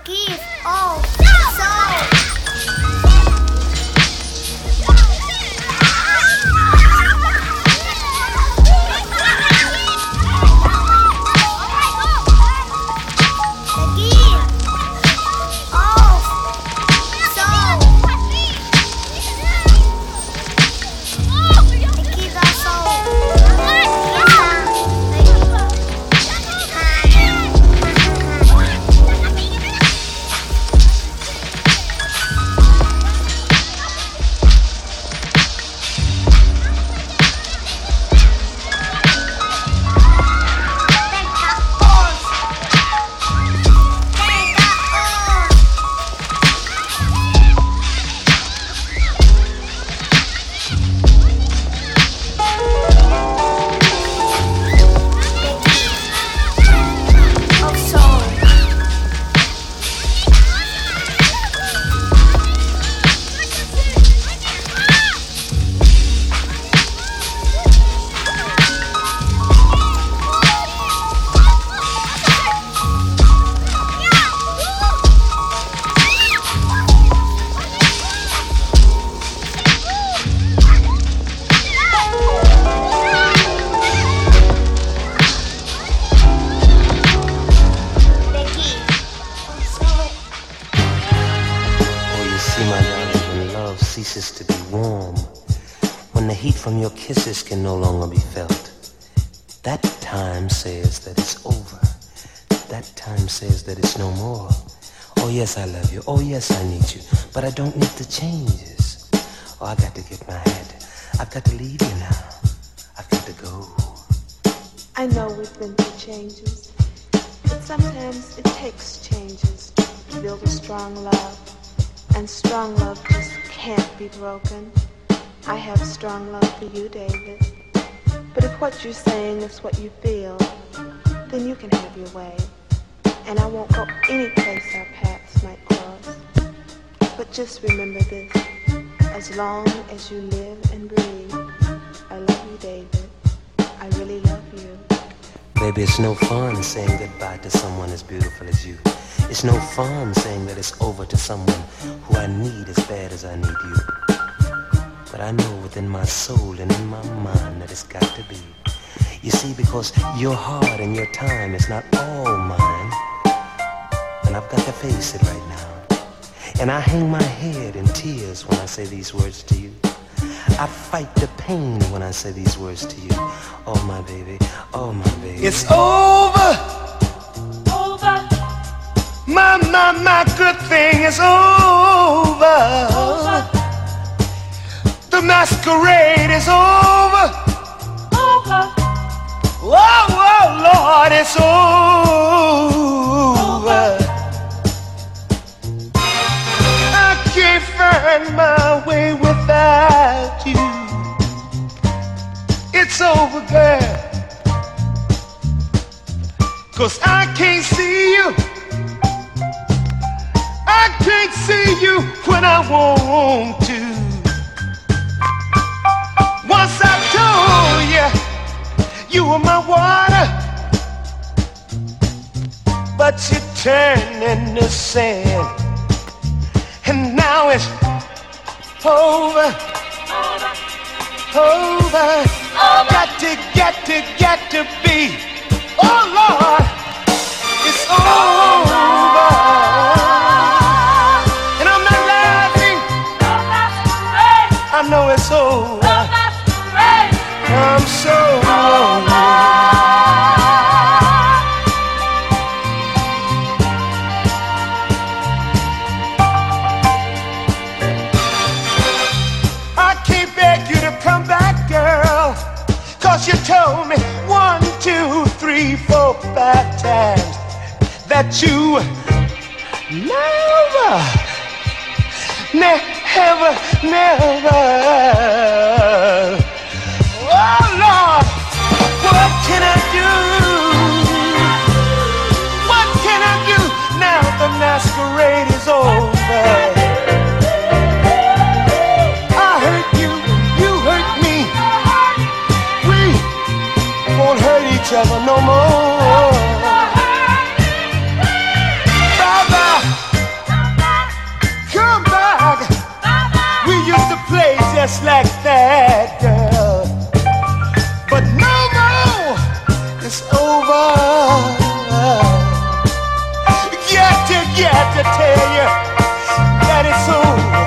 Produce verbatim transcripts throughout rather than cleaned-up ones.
gift of soul. Kisses can no longer be felt. That time says that it's over. That time says that it's no more. Oh yes, I love you. Oh yes, I need you. But I don't need the changes. Oh, I got to get my head. I've got to leave you now. I've got to go. I know we've been through changes, but sometimes it takes changes to build a strong love. And strong love just can't be broken. I have strong love for you, David. But if what you're saying is what you feel, then you can have your way. And I won't go any place our paths might cross. But just remember this. As long as you live and breathe, I love you, David. I really love you. Baby, it's no fun saying goodbye to someone as beautiful as you. It's no fun saying that it's over to someone who I need as bad as I need you. But I know within my soul and in my mind that it's got to be. You see, because your heart and your time is not all mine. And I've got to face it right now. And I hang my head in tears when I say these words to you. I fight the pain when I say these words to you. Oh, my baby. Oh, my baby. It's over. Over. My, my, my good thing is over. Over. The masquerade is over. Over. Oh, oh, Lord, it's over. over. I can't find my way without you. It's over, girl. 'Cause I can't see you. I can't see you when I want to. Once I told you you were my water, but you turned into sand, and now it's over, Over. over. Over. Got to, got to, got to be. Oh Lord, it's over. And I'm not laughing. I know it's over. I'm so lonely. I can't beg you to come back, girl, 'cause you told me one, two, three, four, five times that you never, never, never. Oh Lord, what can I do? What can I do now the masquerade is over? I hurt you, you hurt me. We won't hurt each other no more. Bye bye. just like that, girl. But no more, it's over. Got to, got to tell you that it's over.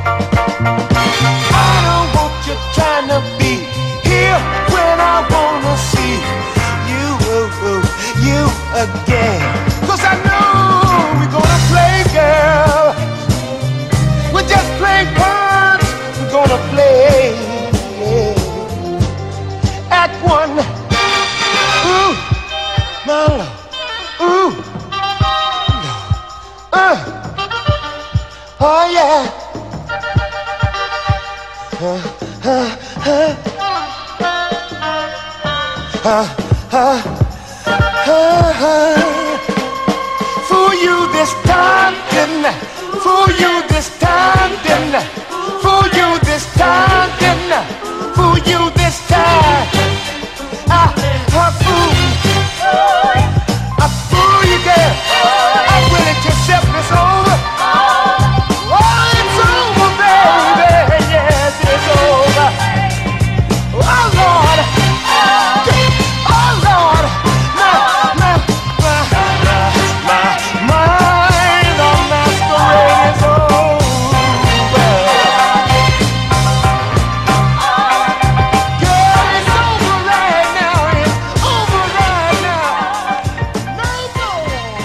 I don't want you trying to be here when I wanna see you, you again. 'Cause I know we're gonna play, girl. We're just playing cards. We're gonna play Act One. Ooh, my love. Ooh, uh, oh yeah. Uh, uh, uh, uh, uh, uh, uh. For you this time, didn't I? For you this time, didn't I? For you this time, didn't I? For you this time, I, I fool, I fool you, girl. I'm willing to accept this over. Oh, it's over, baby. Yes, it's over. Oh Lord, oh Lord, my, my, my, my, my, the masquerade is over. Girl, it's over right now. It's over right now. No more.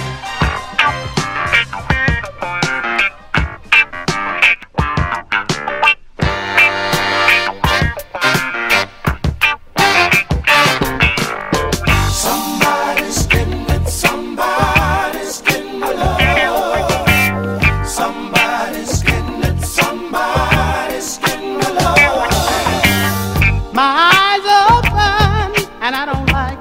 Somebody's getting it, somebody's getting my love. Somebody's getting it, somebody's getting my love. My eyes are open and I don't like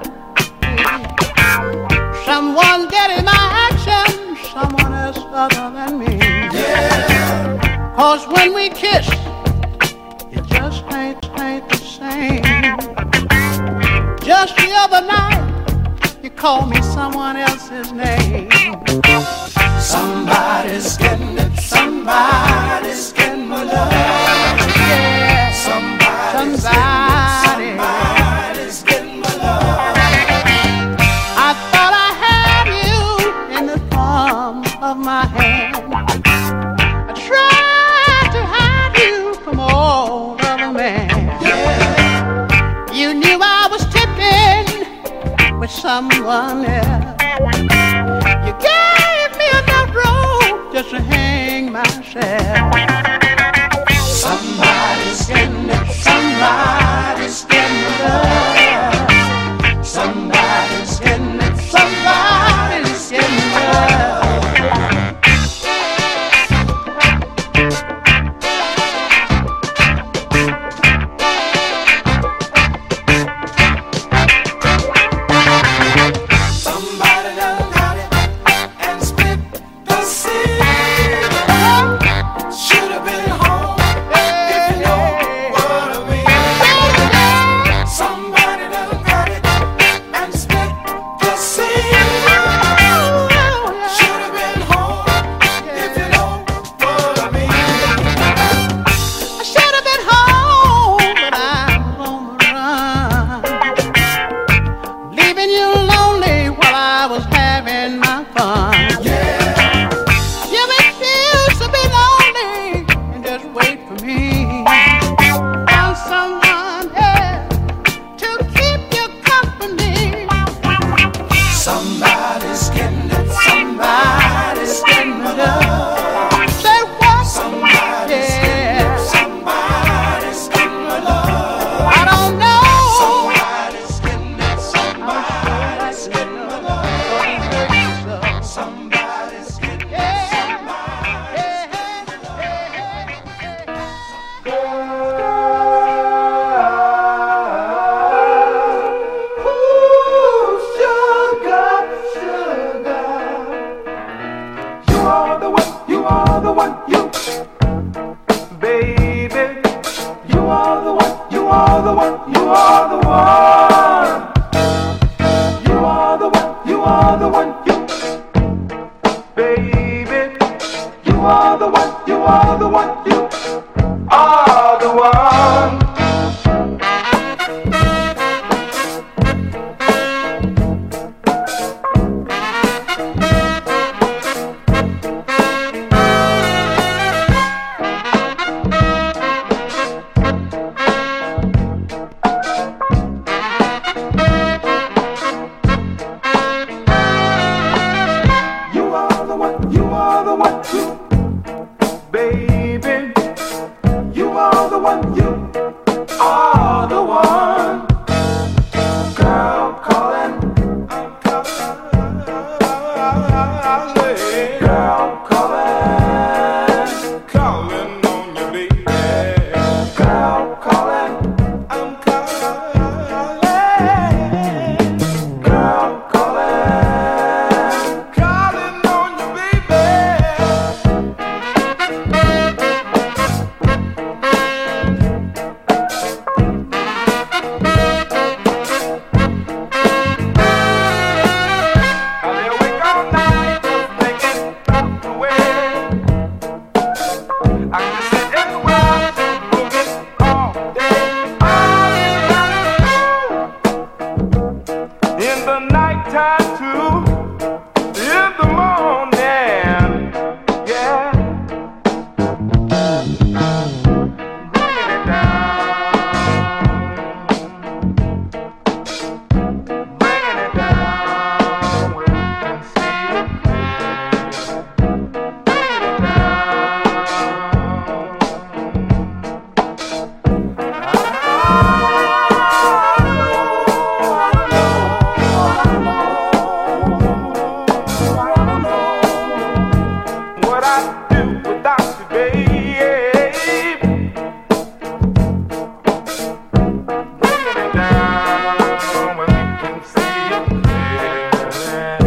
it. Someone getting my action, someone else other than me. Yeah, Cause when we kiss, it just ain't, ain't the same. Just the other night, you called me someone else's name. somebody's getting it, somebody's getting my love. Yeah, Somebody's somebody. getting it, somebody's getting my love. I thought I had you in the palm of my hand. I tried to hide you from all other men. You knew I was tipping with someone else. You gave me enough rope just to hang myself. Somebody's getting it, somebody's getting my love. Somebody's getting it, somebody's getting my love. Somebody done got it and split the seed. Should have been home if you know what I mean. Somebody done got it and split the seed. Should have been home if you know what I mean. I should have been home, but I was on the run, leaving you lonely while I was having my fun. You refused to be lonely and just wait for me. Found someone else to keep you company. Somebody's getting it, somebody's getting my love. Say what? Somebody's getting Yeah, it, somebody's getting my love. I don't know. Somebody's getting it, somebody's getting my love. Somebody's getting it, Ooh, sugar, sugar. You are the one, you are the one, you. Baby, you are the one, you are the one, you are the one. You are the one, you are the one, you. Baby, you are the one, you are the one, you are the one. the one, you, baby. You are the one, you are the one. Girl calling, I'm calling. Girl calling, calling on you, baby. Girl calling, I'm calling. Girl calling, calling on you, baby. I lay awake all night just thinking about the way I can sit and watch movies all day, all night. In the nighttime too, in the morning, yeah. Bringing it down, bringing it down where you can see it clear. Bringing it what I'd do without you, babe. Bringing it down where we can see it clear.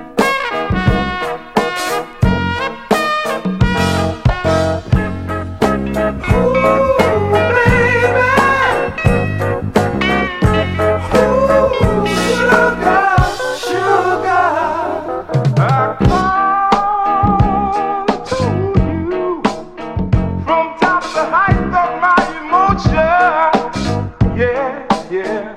Ooh, baby. Ooh, sugar, sugar. I call to you from top to height of my emotion. Yeah, yeah.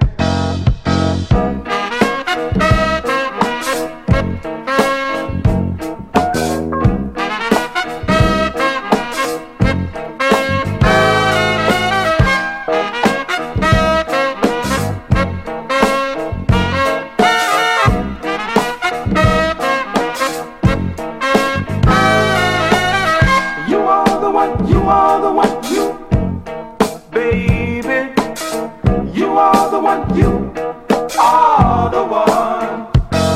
You are the one, you are the one, you, baby. You are the one, you are the one.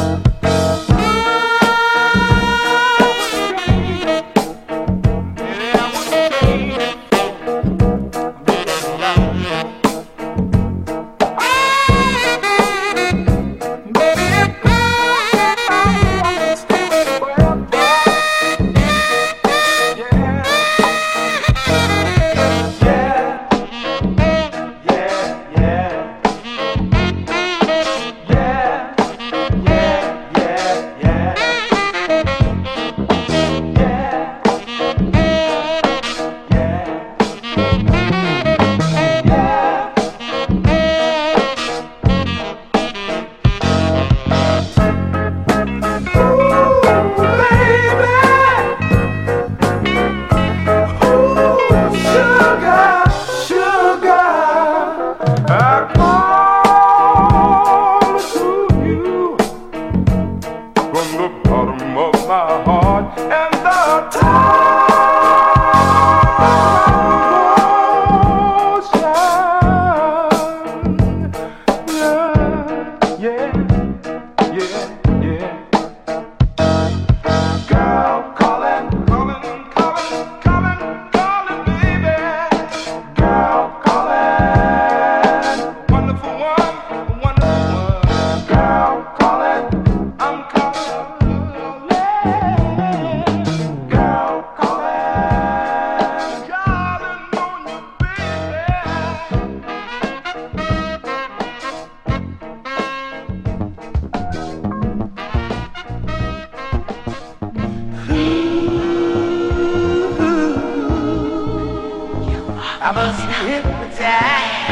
I must be hypnotized.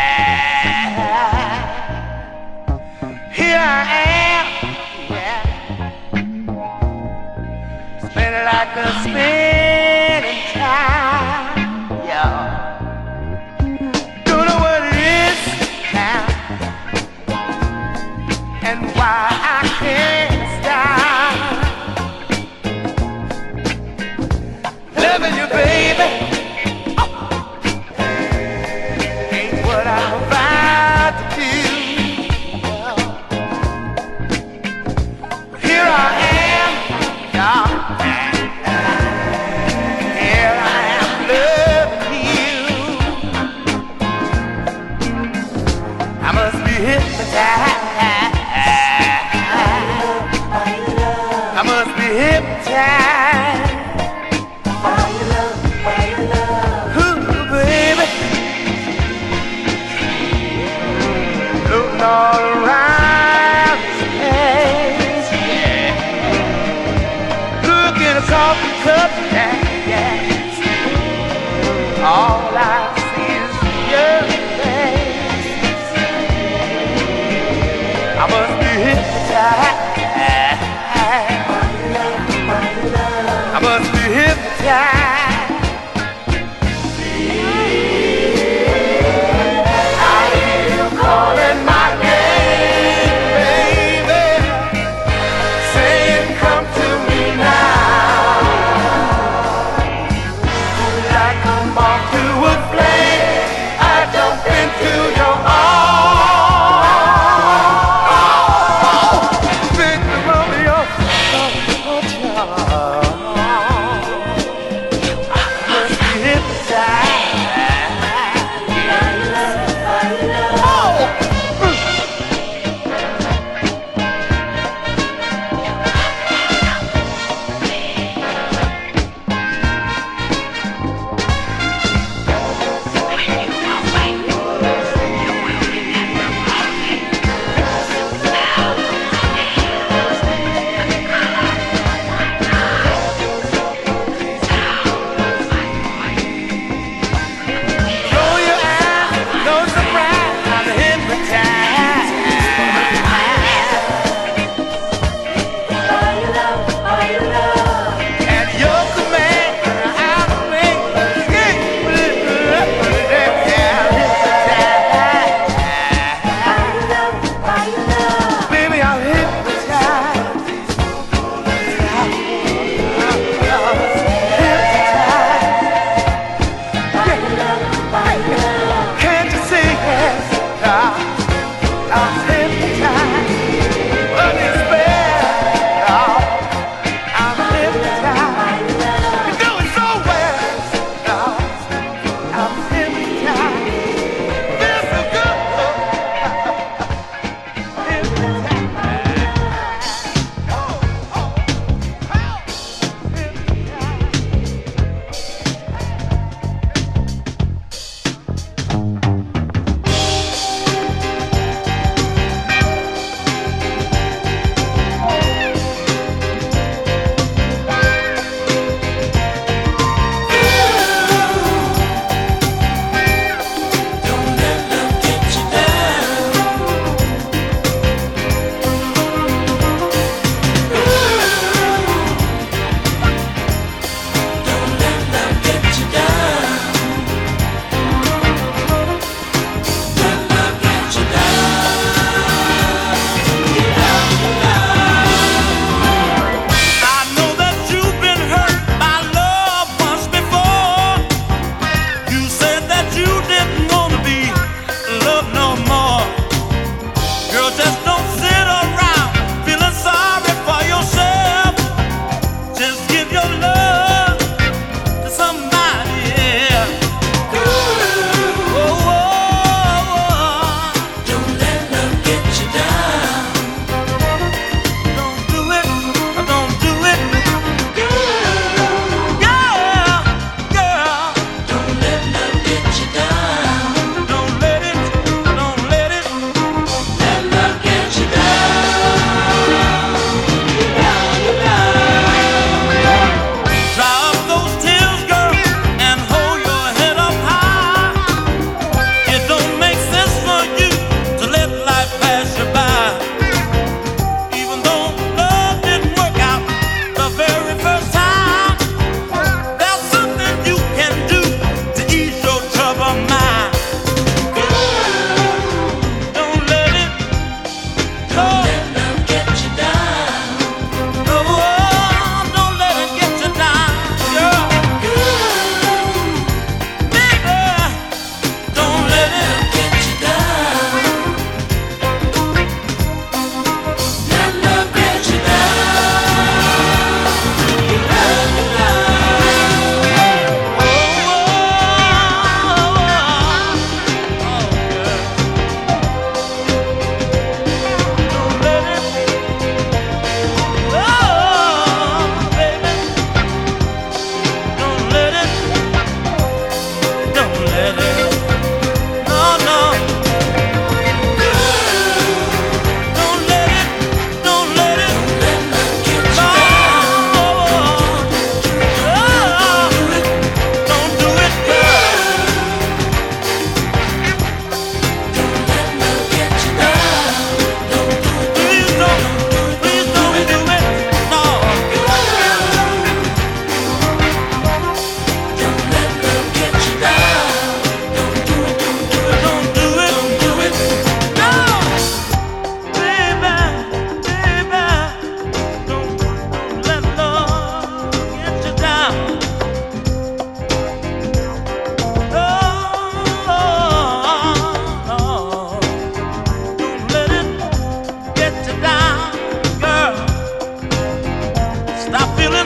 Here I am, yeah, spinning like a spinning time, yeah. Don't know what it is now, and why I can't stop. hypnotized by your love, by your love. Ooh, baby. Looking all around this place, yeah. Looking at coffee cups, yeah, yeah. All I see is your face. I must be hypnotized. I must be hypnotized. I hear you calling my name, baby, saying come to me now. Would I come on to a flame? I jump into your arms. Victim of your, of your charm.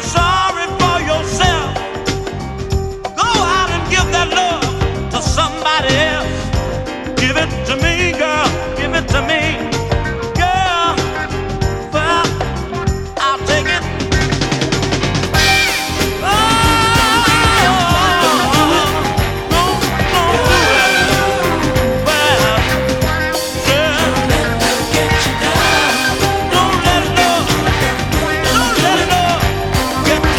sorry for yourself. Go out and give that love to somebody else. Give it to me, girl. Give it to me, girl. Well, I'll take it. Oh, don't, don't do it. Well, girl, don't let her get you down. Don't let her, don't let her get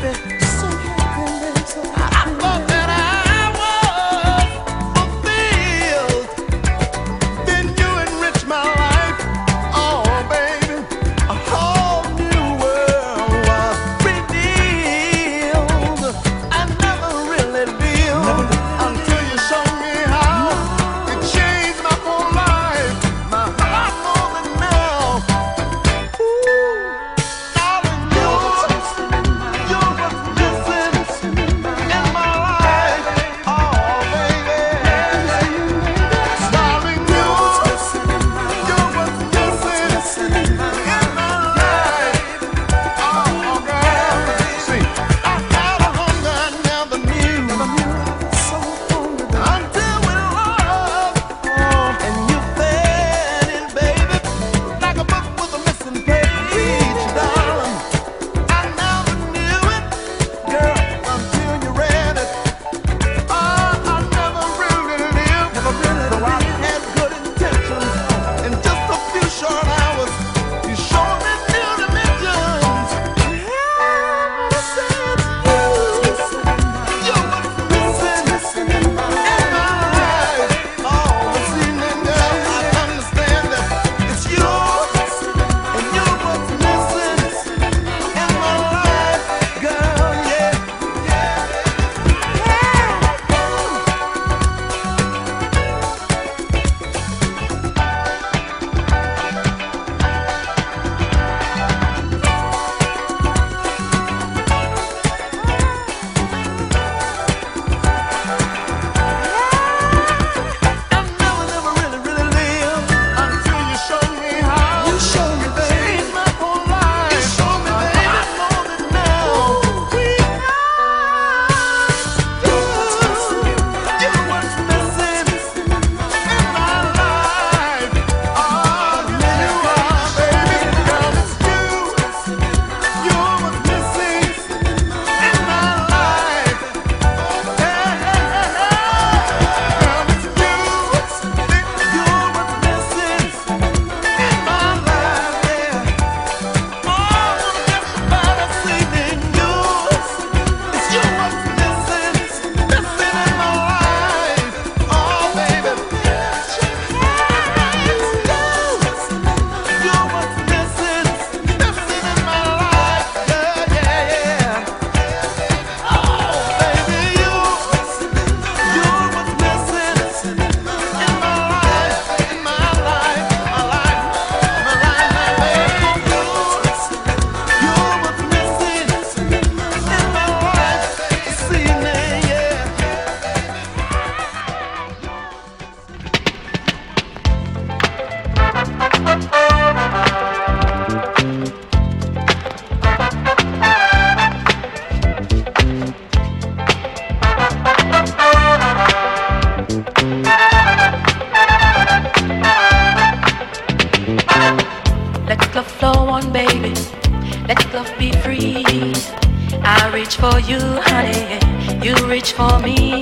reach for you, honey, you reach for me.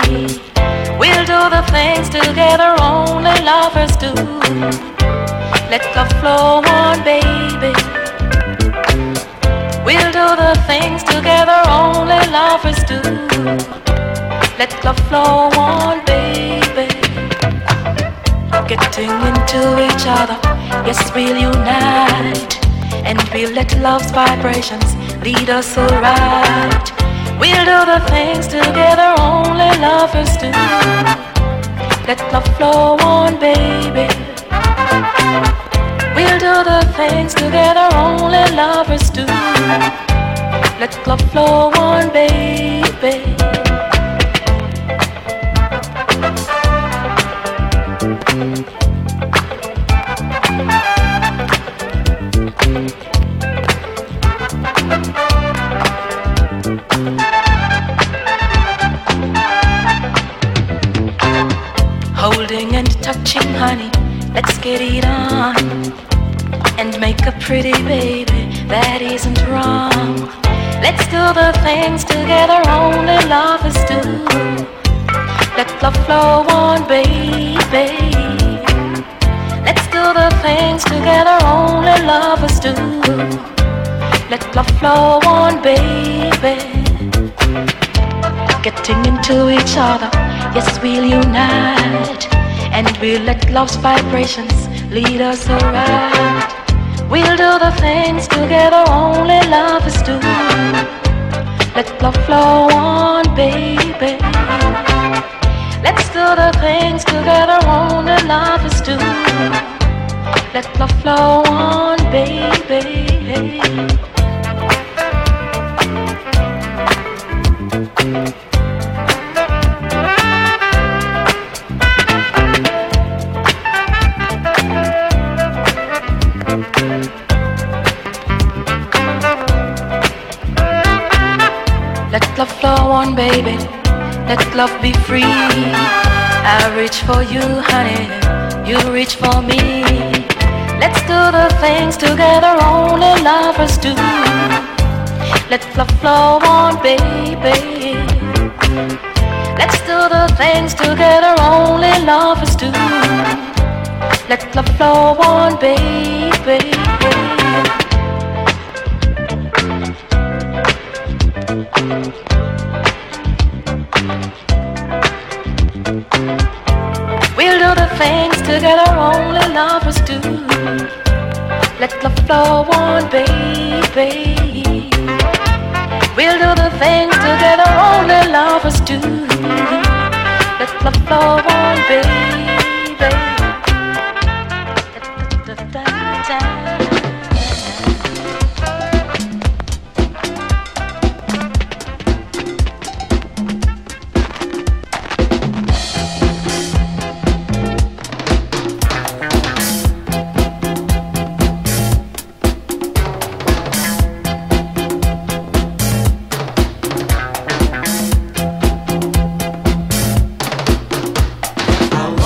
We'll do the things together only lovers do. Let love flow on, baby. We'll do the things together only lovers do. Let love flow on, baby. Getting into each other, yes, we'll unite. And we'll let love's vibrations lead us so right. We'll do the things together only lovers do. Let love flow on, baby. We'll do the things together only lovers do. Let love flow on, baby. Holding and touching, honey, let's get it on. And make a pretty baby, that isn't wrong. Let's do the things together only lovers do. Let love flow on, baby. Let's do the things together only lovers do. Let love flow on, baby. getting into each other. Yes, we'll unite, and we'll let love's vibrations lead us around. We'll do the things together only lovers do. Let love flow on, baby. Let's do the things together only lovers do. Let love flow on, baby. Let love flow on, baby. Let love be free. I reach for you, honey. You reach for me. Let's do the things together only lovers do. Let love flow on, baby. Let's do the things together only lovers do. Let love flow on, baby. We'll do the things together only lovers do. Let love flow on, baby. We'll do the things together only lovers do. Let love flow on, baby. Da, da, da, da. I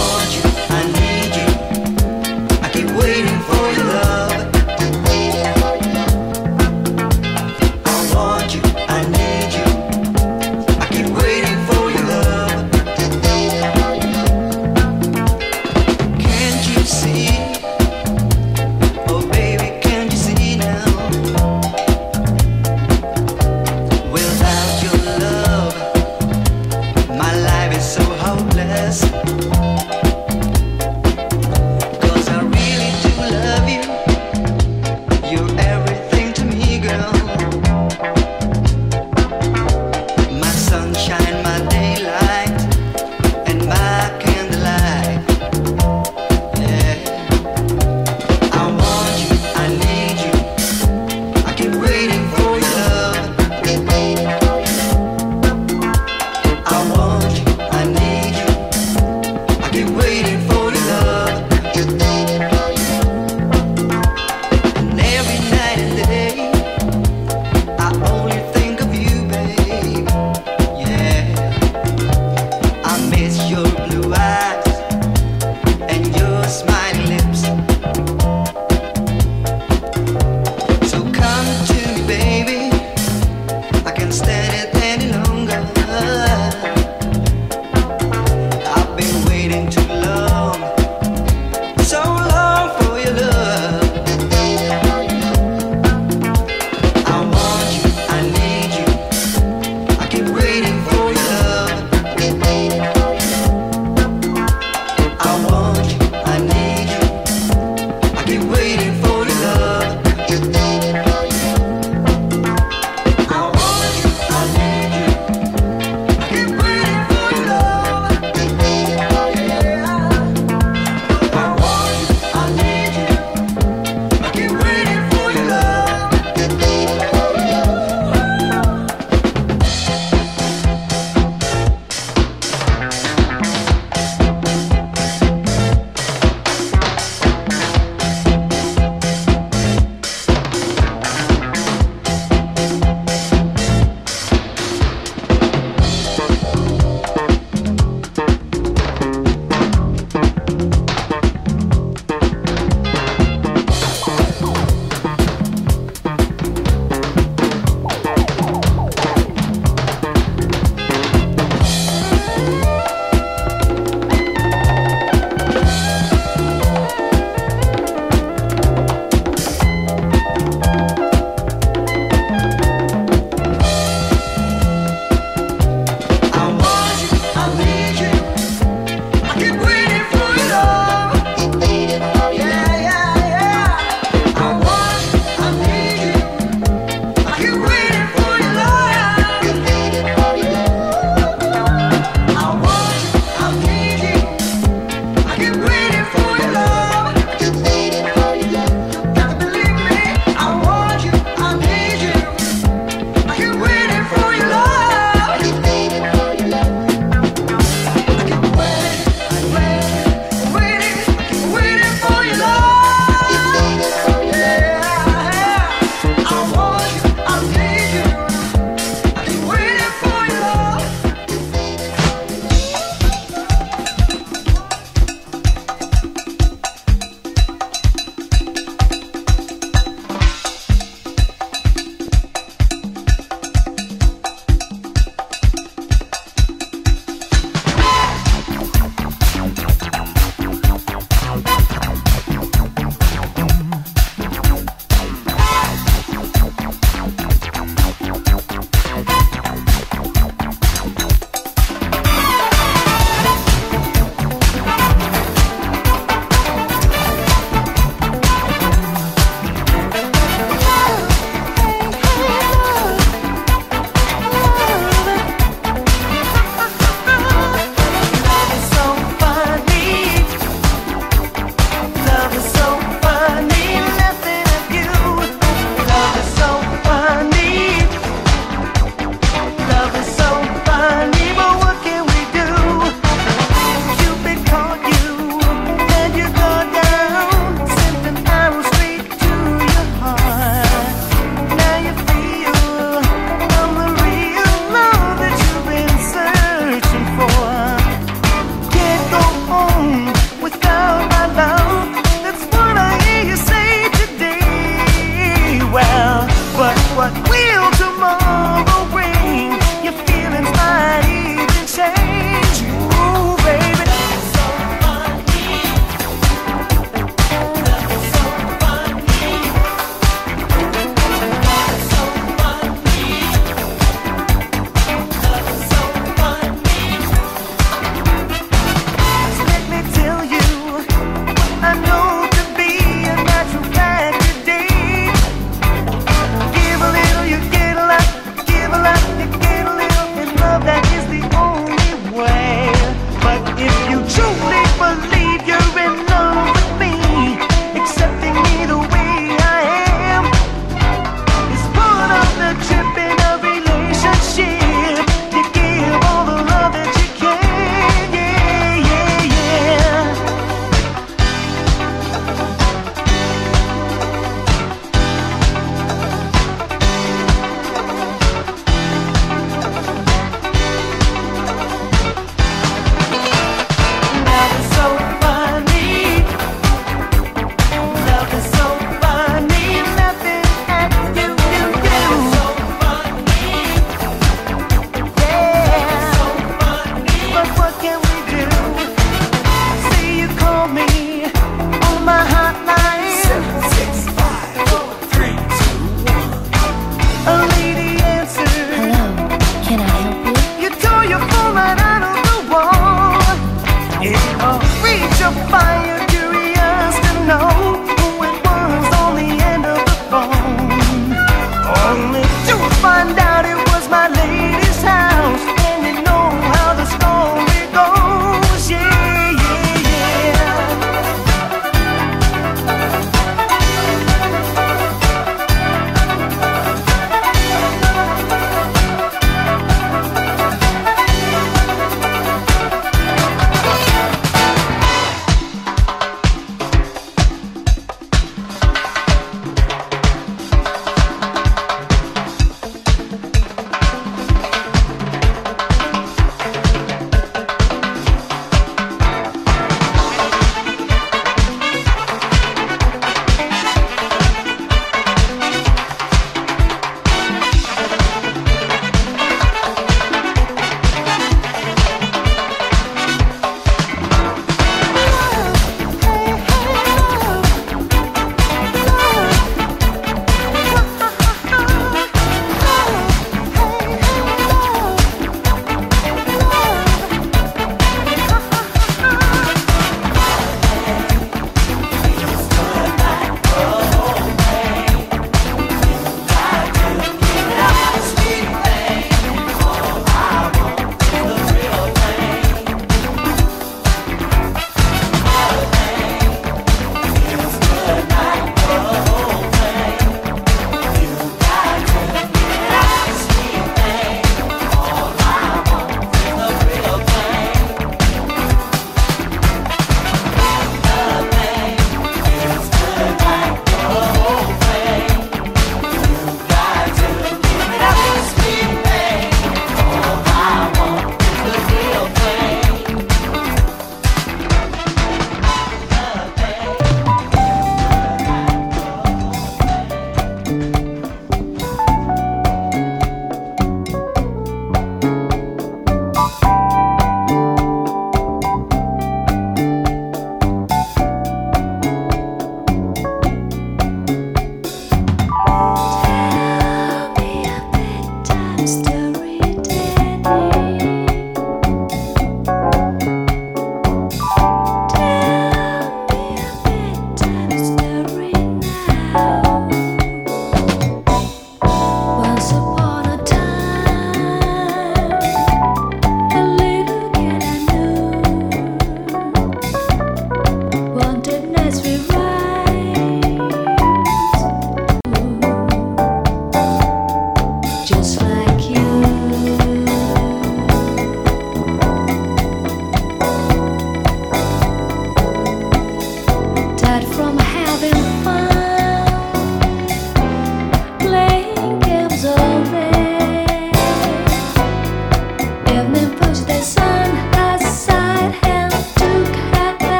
find out it was my lady's house, and you know how the story goes. Yeah, yeah, yeah.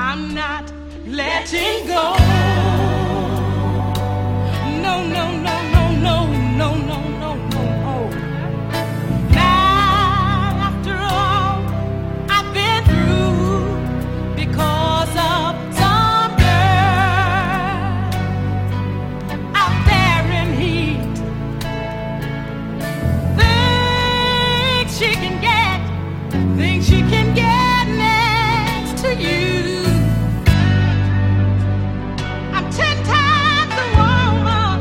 I'm not letting go. No, no, no, no, no, no, no, no, no. Now, after all I've been through because of some girl out there in heat, things she can get, things she can get next to you. I'm ten times the woman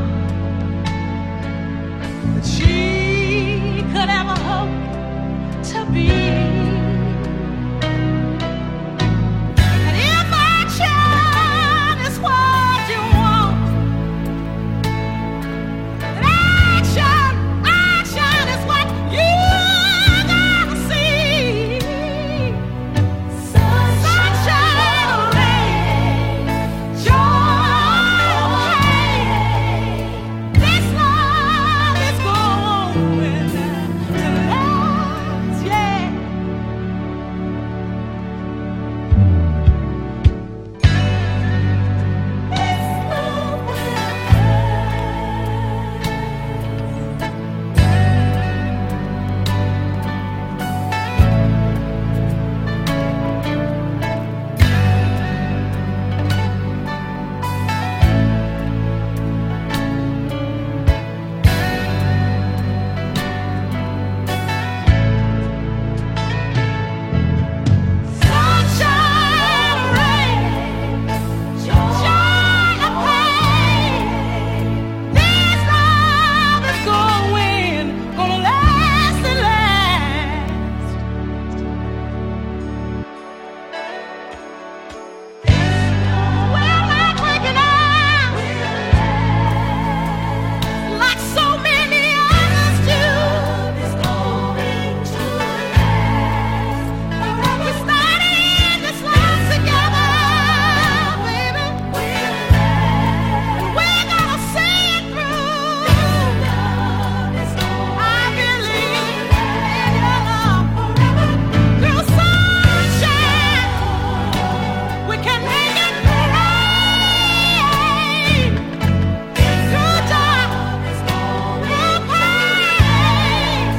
that she could ever hope to be. And if action is what you want, then action, action is what you gotta see. Sunshine or rain, joy or pain, this love is going to last, yeah. This love will sunshine or rain, joy or pain, this love is going, gonna last and last. We're not breaking up like so many others do. It's going to last. We started this life together, baby. And we're gonna see it through. I believe in your love. Through sunshine, we can make it rain. Through dark, through pain.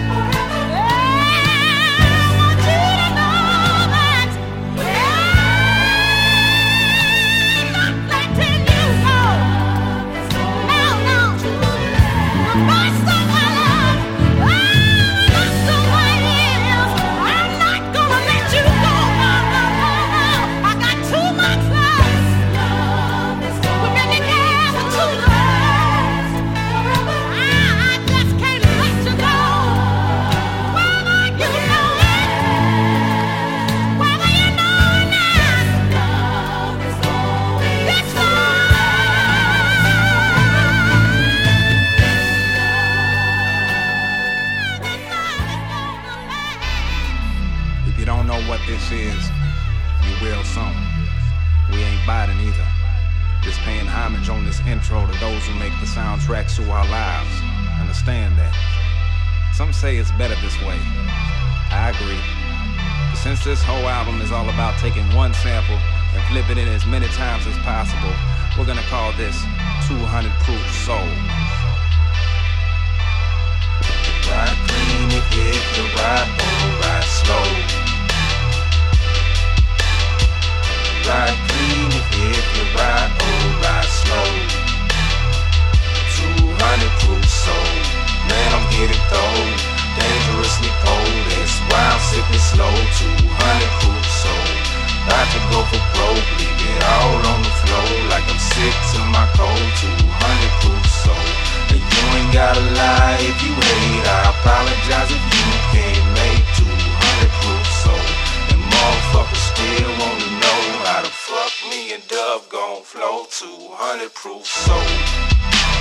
I want you to know that I'm not letting you go. No, no. The best of my love, oh, that's the way it is. I'm not gonna let you go. No, no, no, no. I got too much love. We've been together too long. I, I just can't let you go. Whether you know it, whether you know it not, this If you don't know what this is, you will soon. We ain't biting either. Just paying homage on this intro to those who make the soundtracks to our lives. Understand that. Some say it's better this way. I agree. But since this whole album is all about taking one sample and flipping it as many times as possible, we're gonna call this two hundred Proof Soul. Ride clean if you hit the ride, or ride slow. Ride clean if you hit the ride, or ride slow. two hundred Proof Soul, man, I'm getting though. Dangerously cold, that's why I'm sipping slow. two hundred Proof Soul, about to go for broke, leave it all on the floor like I'm sick to my cold. two hundred Proof Soul, and you ain't gotta lie if you hate. I apologize if you can't make two hundred Proof Soul. And motherfuckers still wanna know how the fuck me and Dove gon' flow. two hundred Proof Soul.